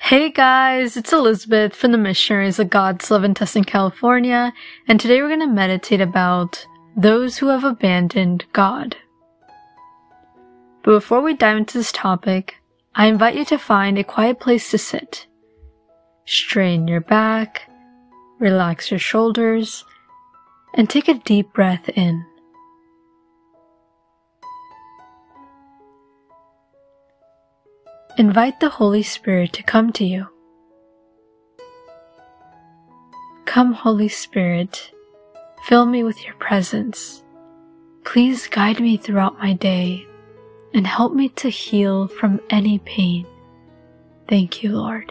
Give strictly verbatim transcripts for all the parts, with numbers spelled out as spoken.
Hey guys, it's Elizabeth from the Missionaries of God's Love in Tustin, California, and today we're going to meditate about those who have abandoned God. But before we dive into this topic, I invite you to find a quiet place to sit. Straighten your back, relax your shoulders, and take a deep breath in. Invite the Holy Spirit to come to you. Come, Holy Spirit, fill me with your presence. Please guide me throughout my day and help me to heal from any pain. Thank you, Lord.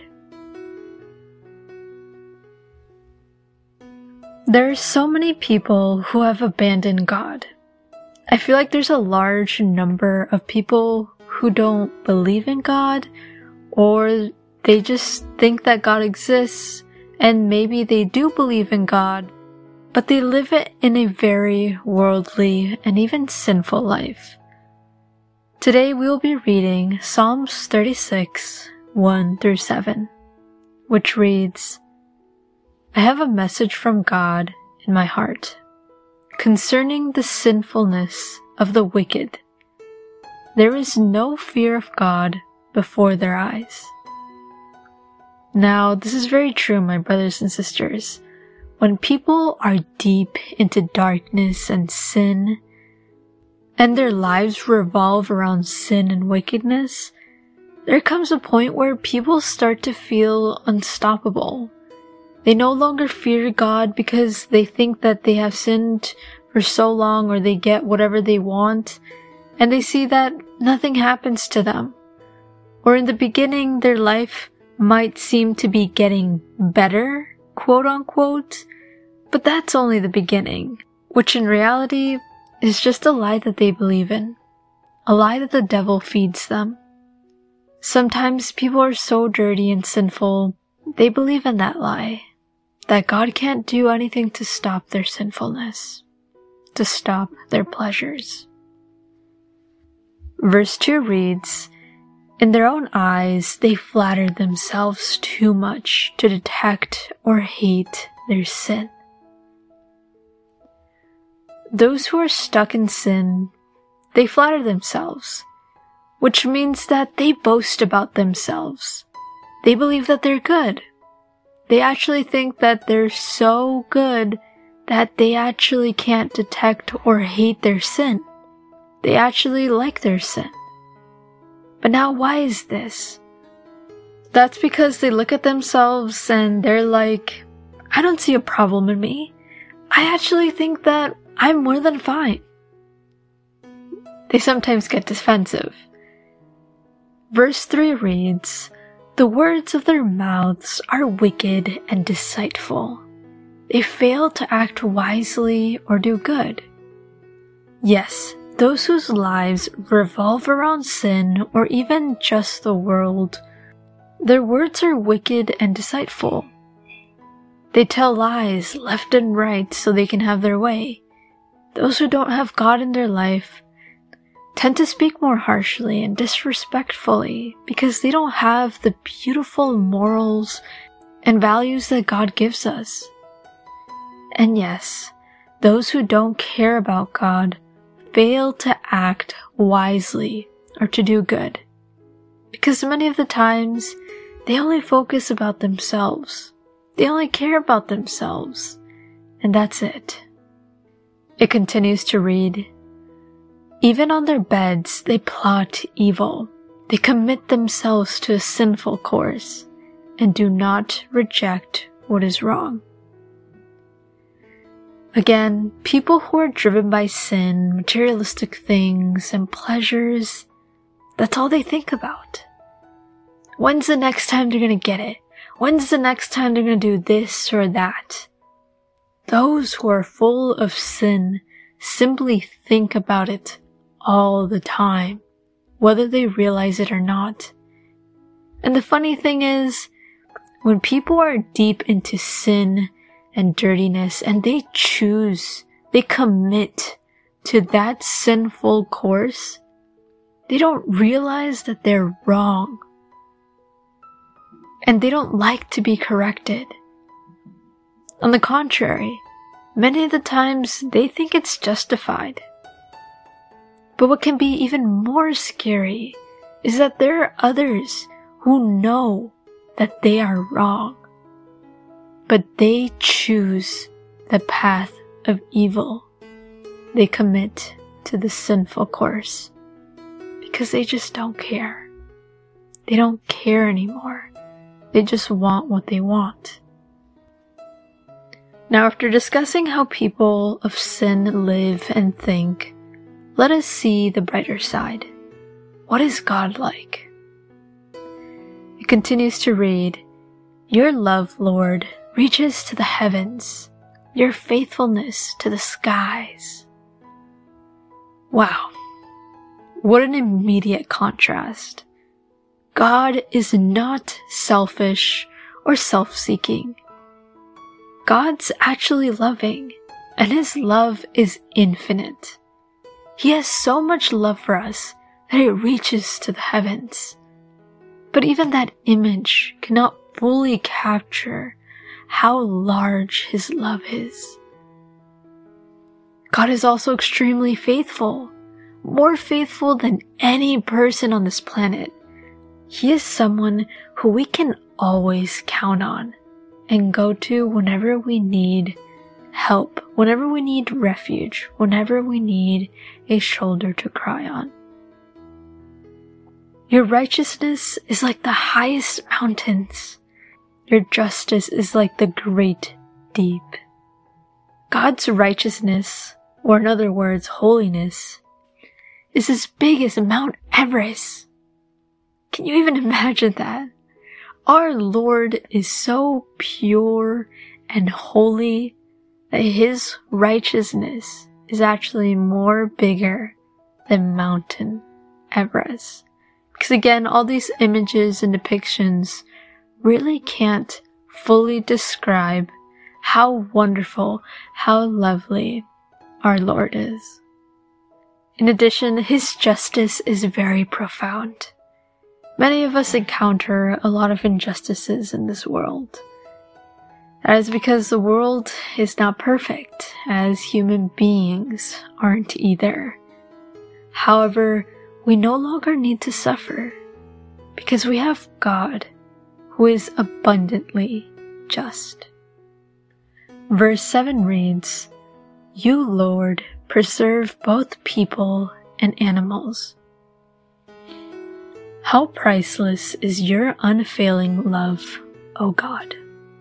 There are so many people who have abandoned God. I feel like there's a large number of people who don't believe in God, or they just think that God exists, and maybe they do believe in God, but they live it in a very worldly and even sinful life. Today we will be reading Psalms thirty-six, one through seven, which reads, I have a message from God in my heart concerning the sinfulness of the wicked. There is no fear of God before their eyes. Now, this is very true, my brothers and sisters. When people are deep into darkness and sin, and their lives revolve around sin and wickedness, there comes a point where people start to feel unstoppable. They no longer fear God because they think that they have sinned for so long, or they get whatever they want, and they see that nothing happens to them. Or in the beginning, their life might seem to be getting better, quote unquote, but that's only the beginning, which in reality is just a lie that they believe in, a lie that the devil feeds them. Sometimes people are so dirty and sinful, they believe in that lie, that God can't do anything to stop their sinfulness, to stop their pleasures. Verse two reads, In their own eyes they flatter themselves too much to detect or hate their sin. Those who are stuck in sin, they flatter themselves, which means that they boast about themselves. They believe that they're good. They actually think that they're so good that they actually can't detect or hate their sin. They actually like their sin. But now why is this? That's because they look at themselves and they're like, I don't see a problem in me. I actually think that I'm more than fine. They sometimes get defensive. Verse three reads, The words of their mouths are wicked and deceitful. They fail to act wisely or do good. Yes, those whose lives revolve around sin or even just the world, their words are wicked and deceitful. They tell lies left and right so they can have their way. Those who don't have God in their life tend to speak more harshly and disrespectfully because they don't have the beautiful morals and values that God gives us. And yes, those who don't care about God fail to act wisely or to do good, because many of the times they only focus about themselves. They only care about themselves, and that's it. It continues to read, Even on their beds they plot evil. They commit themselves to a sinful course and do not reject what is wrong. Again, people who are driven by sin, materialistic things, and pleasures, that's all they think about. When's the next time they're gonna get it? When's the next time they're gonna do this or that? Those who are full of sin simply think about it all the time, whether they realize it or not. And the funny thing is, when people are deep into sin and dirtiness, and they choose, they commit to that sinful course, they don't realize that they're wrong. and they don't like to be corrected. On the contrary, many of the times they think it's justified. But what can be even more scary is that there are others who know that they are wrong, but they choose the path of evil. They commit to the sinful course because they just don't care. They don't care anymore. They just want what they want. Now, after discussing how people of sin live and think, let us see the brighter side. What is God like? It continues to read, "Your love, Lord, reaches to the heavens, your faithfulness to the skies." Wow, what an immediate contrast. God is not selfish or self-seeking. God's actually loving, and His love is infinite. He has so much love for us that it reaches to the heavens. But even that image cannot fully capture how large His love is. God is also extremely faithful, more faithful than any person on this planet. He is someone who we can always count on and go to whenever we need help, whenever we need refuge, whenever we need a shoulder to cry on. Your righteousness is like the highest mountains. Your justice is like the great deep. God's righteousness, or in other words, holiness, is as big as Mount Everest. Can you even imagine that? Our Lord is so pure and holy that His righteousness is actually more bigger than Mountain Everest. Because again, all these images and depictions really can't fully describe how wonderful, how lovely our Lord is. In addition, His justice is very profound. Many of us encounter a lot of injustices in this world. That is because the world is not perfect, as human beings aren't either. However, we no longer need to suffer, because we have God, who is abundantly just. Verse seven reads, "You, Lord, preserve both people and animals." How priceless is your unfailing love, O God.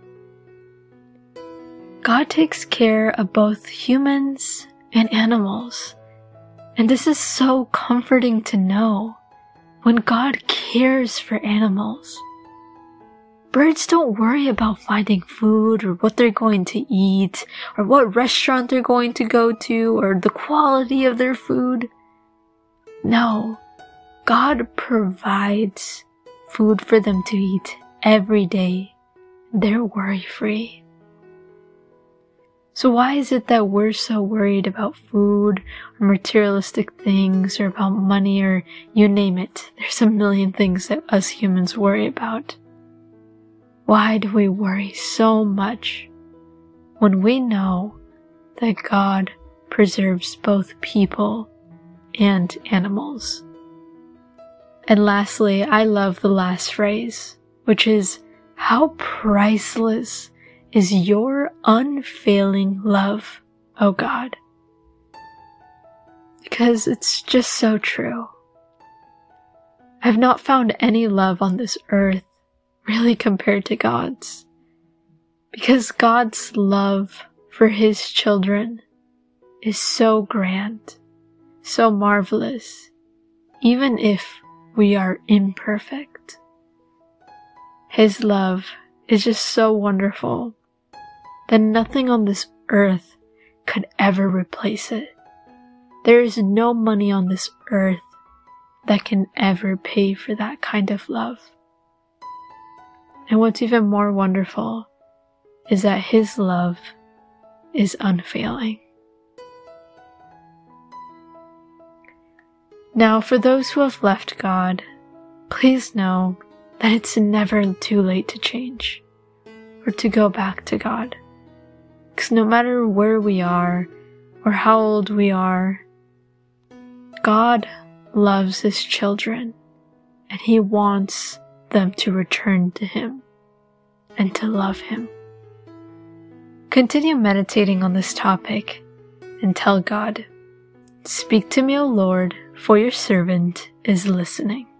God takes care of both humans and animals, and this is so comforting to know when God cares for animals. Birds don't worry about finding food or what they're going to eat or what restaurant they're going to go to or the quality of their food. No, God provides food for them to eat every day. They're worry-free. So why is it that we're so worried about food or materialistic things or about money or you name it? There's a million things that us humans worry about. Why do we worry so much when we know that God preserves both people and animals? And lastly, I love the last phrase, which is, how priceless is your unfailing love, O God. Because it's just so true. I've not found any love on this earth really compared to God's. Because God's love for His children is so grand, so marvelous, even if we are imperfect. His love is just so wonderful that nothing on this earth could ever replace it. There is no money on this earth that can ever pay for that kind of love. And what's even more wonderful is that His love is unfailing. Now, for those who have left God, please know that it's never too late to change or to go back to God. Because no matter where we are or how old we are, God loves His children and He wants them to return to Him and to love Him. Continue meditating on this topic and tell God, "Speak to me, O Lord, for your servant is listening."